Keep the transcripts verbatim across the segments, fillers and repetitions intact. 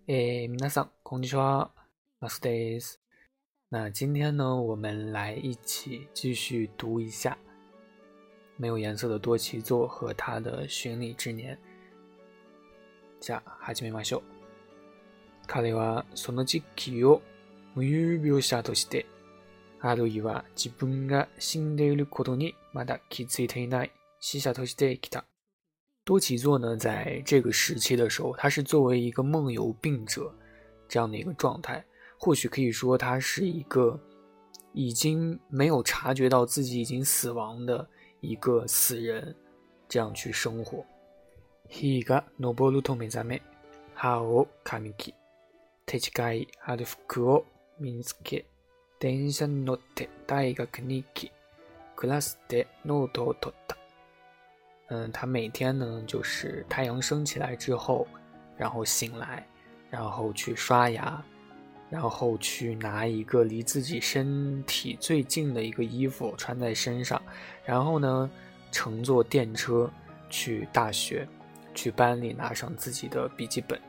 诶，皆さんこんにちは、マスです。那今天呢，我们来一起继续读一下没有颜色的多崎作和他的巡礼之年。じゃあ始めましょう。彼はその時期を無有描写として、あるいは自分が死んでいることにまだ気づいていない死者として来た。多崎作呢，在这个时期的时候，他是作为一个梦游病者这样的一个状态，或许可以说他是一个已经没有察觉到自己已经死亡的一个死人，这样去生活。日が昇ると目覚め、歯を噛み切、手近いある服を身につけ、電車に乗って大学に行き、クラスでノートを取った。嗯，他每天呢，就是太阳升起来之后，然后醒来，然后去刷牙，然后去拿一个离自己身体最近的一个衣服穿在身上，然后呢，乘坐電車去大学，去班里拿上自己的笔记本。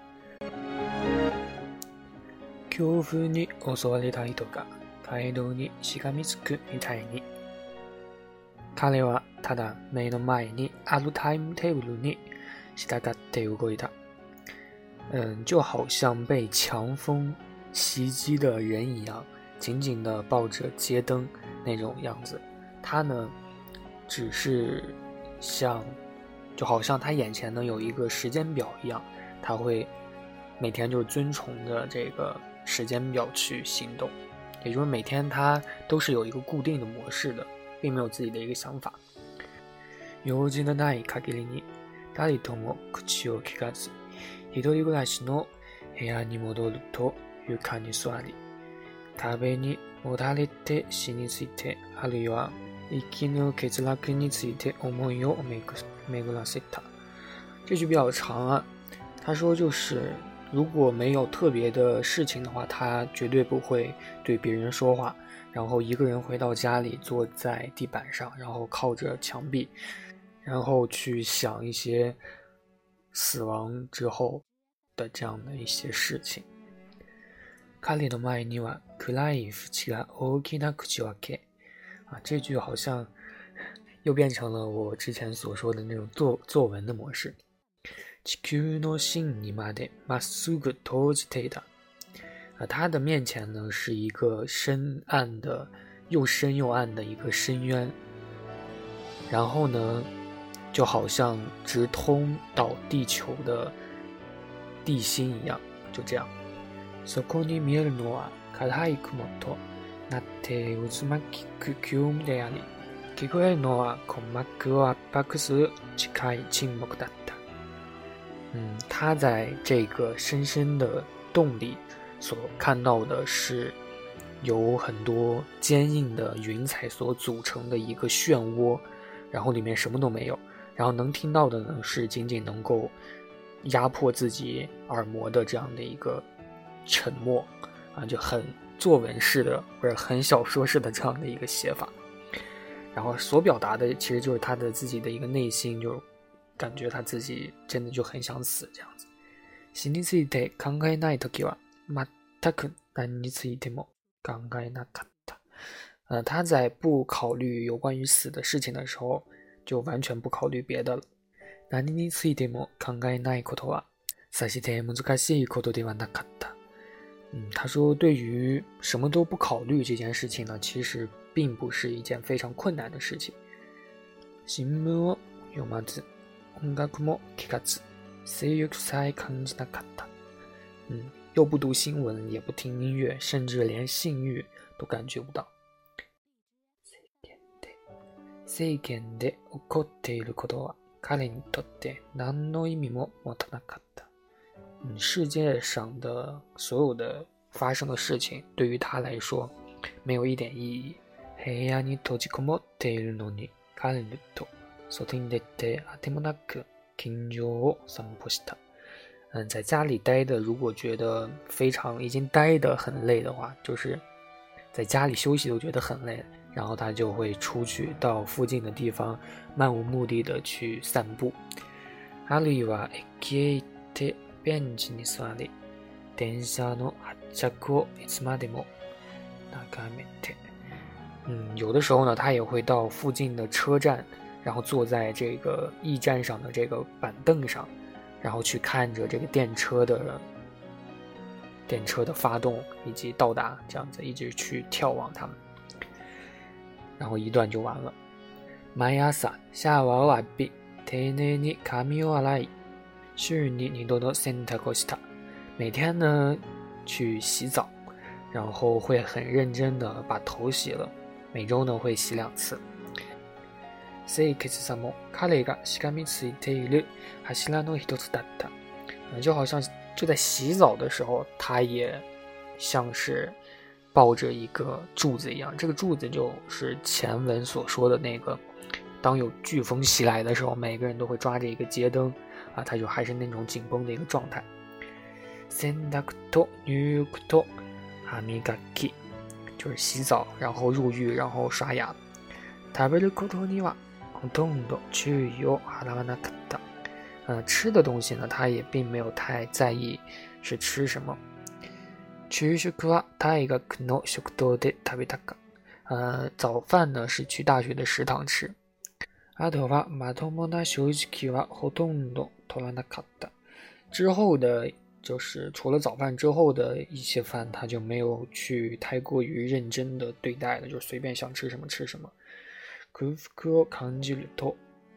強風に襲われた人が街道にしがみつくみたいに。彼はただ目の前にあるタイムテーブルに従って動いた。嗯，就好像被强风袭击的人一样，紧紧地抱着街灯那种样子。他呢，只是像，就好像他眼前呢有一个时间表一样，他会每天就遵从着这个时间表去行动，也就是每天他都是有一个固定的模式的。并没有自己的一个想法。用事のない限りに誰とも口を聞かず、一人暮らしの部屋に戻ると床に座り、壁にもたれて死について、あるいは生きの欠落について思いを巡らせた。这句比较长啊，他说就是如果没有特别的事情的话，他绝对不会对别人说话，然后一个人回到家里，坐在地板上，然后靠着墙壁，然后去想一些死亡之后的这样的一些事情。彼の前には暗い淵が大きな口を開け啊，这句好像又变成了我之前所说的那种作作文的模式。地球の芯にまでまっすぐ投じていた。啊，他的面前呢是一个深暗的，又深又暗的一个深渊，然后呢，就好像直通到地球的地心一样，就这样。そこに見えるのは暗い雲となって渦巻く急であり、聞こえるのは鼓膜を圧迫する近い沈黙だった。嗯，他在这个深深的洞里所看到的是由很多坚硬的云彩所组成的一个漩涡，然后里面什么都没有，然后能听到的呢是仅仅能够压迫自己耳膜的这样的一个沉默啊，就很作文式的或者很小说式的这样的一个写法，然后所表达的其实就是他的自己的一个内心，就感覺他自己真的就很想死这样子。死について考えないときは全く何についても考えなかった。呃，他在不考慮有關於死的事情的時候，就完全不考慮別的了。何についても考えないことはさして難しいことではなかった。嗯，他說對於什麼都不考慮這件事情呢，其實並不是一件非常困難的事情。新聞を読まず、音楽も聴かず、性欲さえ感じなかった。嗯，又不读新闻，也不听音乐，甚至连性欲都感觉不到。世間で起こっていることは彼にとって何の意味も持たなかった。嗯，世界上的所有的发生的事情，对于他来说没有一点意义。部屋に閉じこもっているのに彼と外に出てあてもなく近所を散歩した。嗯，在家里待的，如果觉得非常已经待得很累的话，就是在家里休息都觉得很累，然后他就会出去到附近的地方，漫无目的的去散步。あるいは駅へ行ってベンチに座り、 電車の発着をいつまでも眺めて。嗯，有的时候呢，他也会到附近的车站，然后坐在这个驿站上的这个板凳上，然后去看着这个电车的电车的发动以及到达，这样子一直去眺望他们。然后一段就完了。毎朝シャワーを浴び、丁寧に髪を洗い、週に二度の洗濯をした。每天呢去洗澡，然后会很认真的把头洗了。每周呢会洗两次。清潔さも彼がしがみついている柱の一つだった。就好像就在洗澡的时候，他也像是抱着一个柱子一样。这个柱子就是前文所说的那个，当有飓风袭来的时候，每个人都会抓着一个街灯啊，他就还是那种紧绷的一个状态。洗濯と入浴と歯磨き。就是洗澡，然后入浴，然后刷牙。食べることにはほとんど注意を払わなかった。呃，吃的东西呢，他也并没有太在意是吃什么。昼食は大学の食堂で食べたか。呃，早饭呢是去大学的食堂吃。あとはまともな食事はほとんど取らなかった。之後的。就是除了早饭之后的一些饭，他就没有去太过于认真的对待了，就随便想吃什么吃什么。空腹を感じると、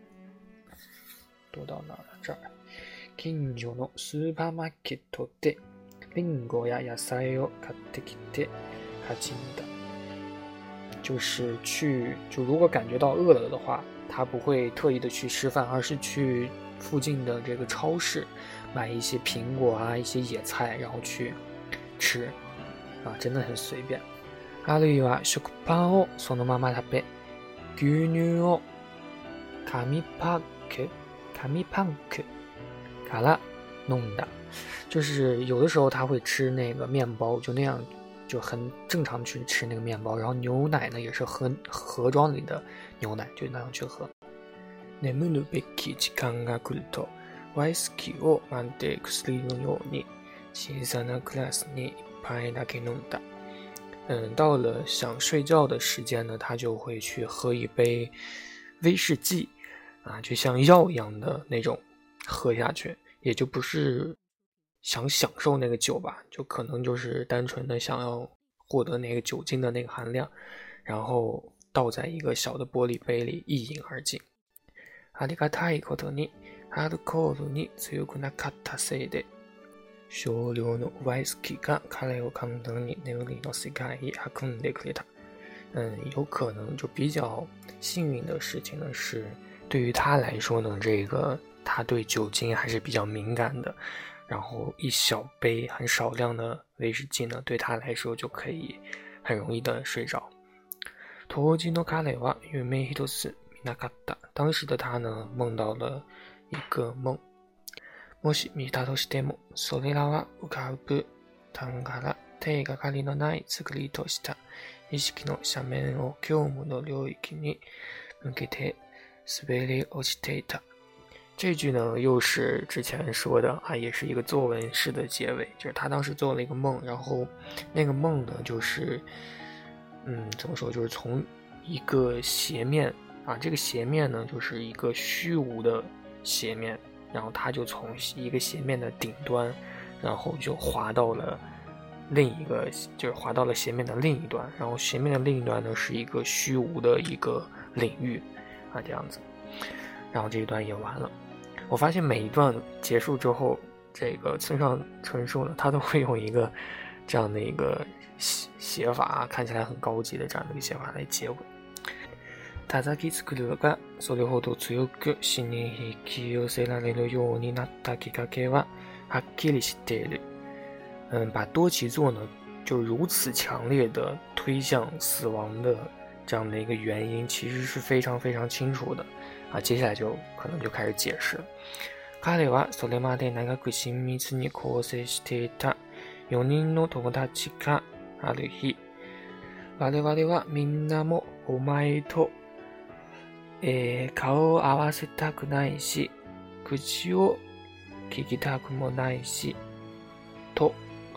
どう到哪了？这儿。近所のスーパーマーケットでリンゴや野菜を買ってきて始めた。就是去，就如果感觉到饿了的话，他不会特意的去吃饭，而是去附近的这个超市买一些苹果啊，一些野菜，然后去吃啊，真的很随便。あるいは食パンをそのまま食べ、牛乳を紙パック、紙パンクから飲んだ。就是有的时候他会吃那个面包，就那样就很正常去吃那个面包，然后牛奶呢也是喝盒装里的牛奶，就那样去喝。眠るべき時間が来るとワイスキーをまるで薬のように小さなグラスに一杯だけ飲んだ。嗯，到了想睡觉的时间呢，他就会去喝一杯威士忌啊，就像药一样的那种喝下去，也就不是想享受那个酒吧，就可能就是单纯的想要获得那个酒精的那个含量，然后倒在一个小的玻璃杯里一饮而尽。ありがたいことにアルコールに強くなかったせいで、少量のワイスキーが彼を簡単に眠りの世界へ運んでくれた。嗯，有可能就比较幸运的事情呢，是对于他来说呢，这个他对酒精还是比较敏感的，然后一小杯很少量的威士忌呢，对他来说就可以很容易的睡着。当時の彼は夢一つ見なかった。当时的他呢，梦到了一个梦。もし見たとしても、それらは浮かぶ単から手がかりのない作りとした意識の斜面を業務の領域に向けて滑り落ちていた。这句呢，又是之前说的啊，也是一个作文式的结尾，就是他当时做了一个梦，然后那个梦呢，就是嗯，怎么说，就是从一个斜面啊，这个斜面呢，就是一个虚无的斜面，然后他就从一个斜面的顶端，然后就滑到了另一个，就是滑到了斜面的另一端，然后斜面的另一端呢是一个虚无的一个领域啊，这样子，然后这一段也完了。我发现每一段结束之后，这个村上春树呢，他都会用一个这样的一个写法，看起来很高级的这样的一个写法来结尾。叩きつくるがそれほど強く死に引き寄せられるようになったきっかけははっきり知っている。嗯，把多崎作呢就如此强烈的推向死亡的这样的一个原因，其实是非常非常清楚的啊。接下来就可能就开始解释了。彼はそれまで長く親密に交際していたよにんの友達がある日、我々はみんなもお前とえー、顔を合わせたくないし、口を聞きたくもないし、と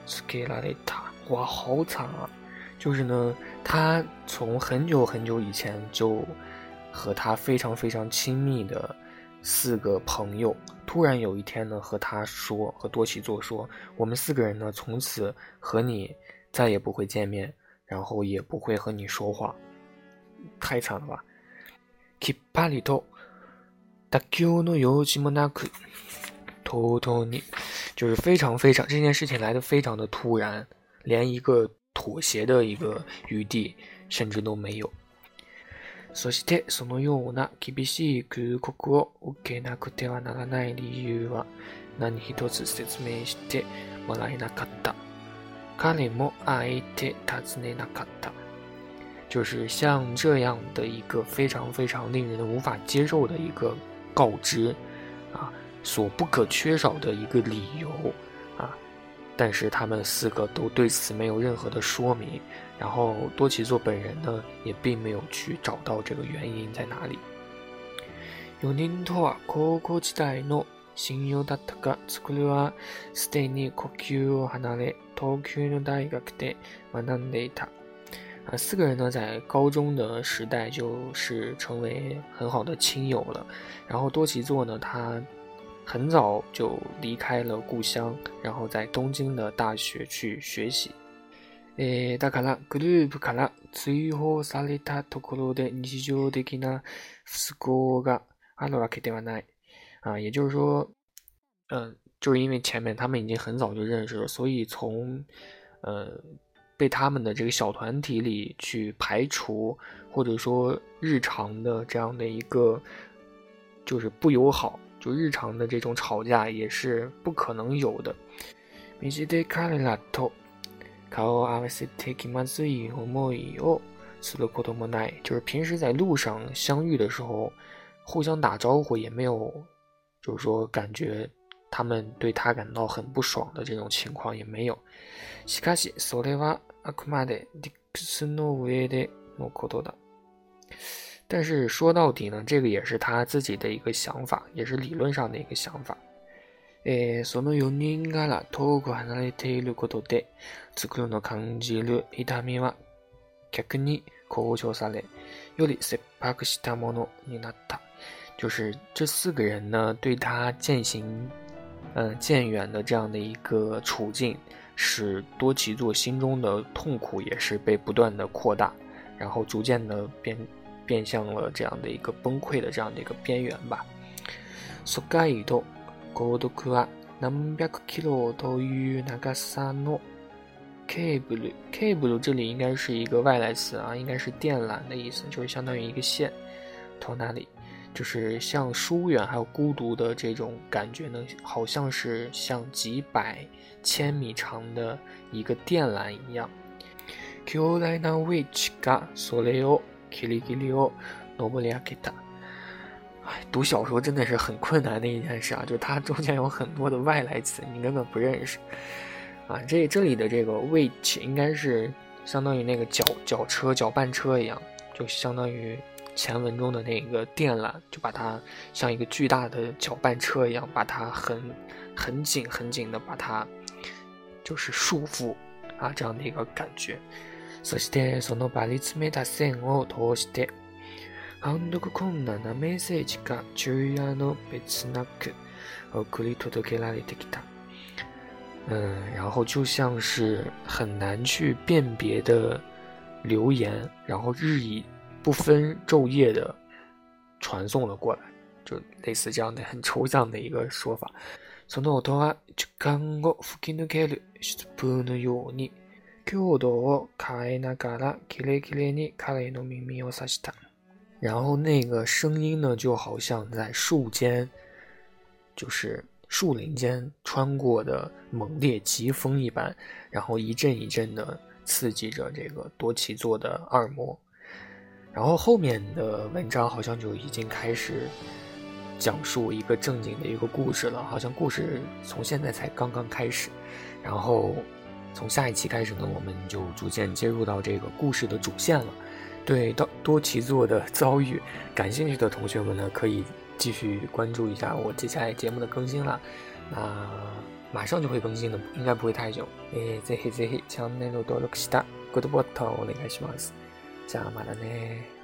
つけられた。哇，好惨啊！就是呢，他从很久很久以前就和他非常非常亲密的四个朋友，突然有一天呢，和他说，和多崎作说，我们四个人呢，从此和你再也不会见面，然后也不会和你说话。太惨了吧！きっぱりと妥協の用事もなく、とうとうに，就是非常非常这件事情来得非常的突然，连一个妥协的一个余地甚至都没有。そしてそのような厳しい空告を受けなくてはならない理由は何一つ説明してもらえなかった。彼もあえて尋ねなかった。就是像这样的一个非常非常令人无法接受的一个告知啊，所不可缺少的一个理由啊，但是他们四个都对此没有任何的说明，然后多崎作本人呢也并没有去找到这个原因在哪里。よにんとは高校時代の親友だったが、つくるはすでに故郷を離れ、東京の大学で学んでいた。啊，四个人呢，在高中的时代就是成为很好的亲友了。然后多崎作呢，他很早就离开了故乡，然后在东京的大学去学习。えー、だからグループから追放されたところで日常的な不合があるわけではない。啊，也就是说，嗯、呃，就是因为前面他们已经很早就认识了，所以从呃。被他们的这个小团体里去排除，或者说日常的这样的一个就是不友好，就日常的这种吵架也是不可能有的。道で彼らと顔を合わせて気まずい思いをすることもない，就是平时在路上相遇的时候，互相打招呼也没有，就是说感觉他们对他感到很不爽的这种情况也没有。しかしそれはあくまで理屈の上でのことだ。但是说到底呢，这个也是他自己的一个想法，也是理论上的一个想法。えー、そのよにんから遠く離れていることで、つくるの感じる痛みは逆に向上され、より切迫したものになった。就是这四个人呢，对他渐行嗯、呃、渐远的这样的一个处境，使多崎作心中的痛苦也是被不断的扩大，然后逐渐的变变向了这样的一个崩溃的这样的一个边缘吧。疎開と孤独は何百キロという長さのケーブル，ケーブル这里应该是一个外来词啊，应该是电缆的意思，就是相当于一个线。と那里就是像疏远还有孤独的这种感觉呢，好像是像几百千米长的一个电缆一样。巨大なウェッジがそれをギリギリを登り上げた。哎，读小说真的是很困难的一件事啊，就是它中间有很多的外来词，你根本不认识啊。这这里的这个 wedge 应该是相当于那个绞绞车、搅拌车一样，就相当于前文中的那个电缆，就把它像一个巨大的搅拌车一样，把它很很紧很紧的把它就是束缚啊，这样的一个感觉。そしてその張り詰めた線を通して判読困難なメッセージが昼夜の別なく送り届けられてきた。嗯，然后就像是很难去辨别的留言，然后日以不分昼夜的传送了过来，就类似这样的很抽象的一个说法。その音は時間を吹き抜ける疾風のように強度を変えながらキレキレに彼の耳を刺した。然后那个声音呢，就好像在树间，就是树林间穿过的猛烈疾风一般，然后一阵一阵的刺激着这个多崎作的耳膜。然后后面的文章好像就已经开始讲述一个正经的一个故事了，好像故事从现在才刚刚开始。然后从下一期开始呢，我们就逐渐接入到这个故事的主线了。对多崎作的遭遇感兴趣的同学们呢，可以继续关注一下我接下来节目的更新啦。那马上就会更新的，应该不会太久。えー、ぜひぜひチャンネル登録したグッドボタンをお願いします。じゃあまだね。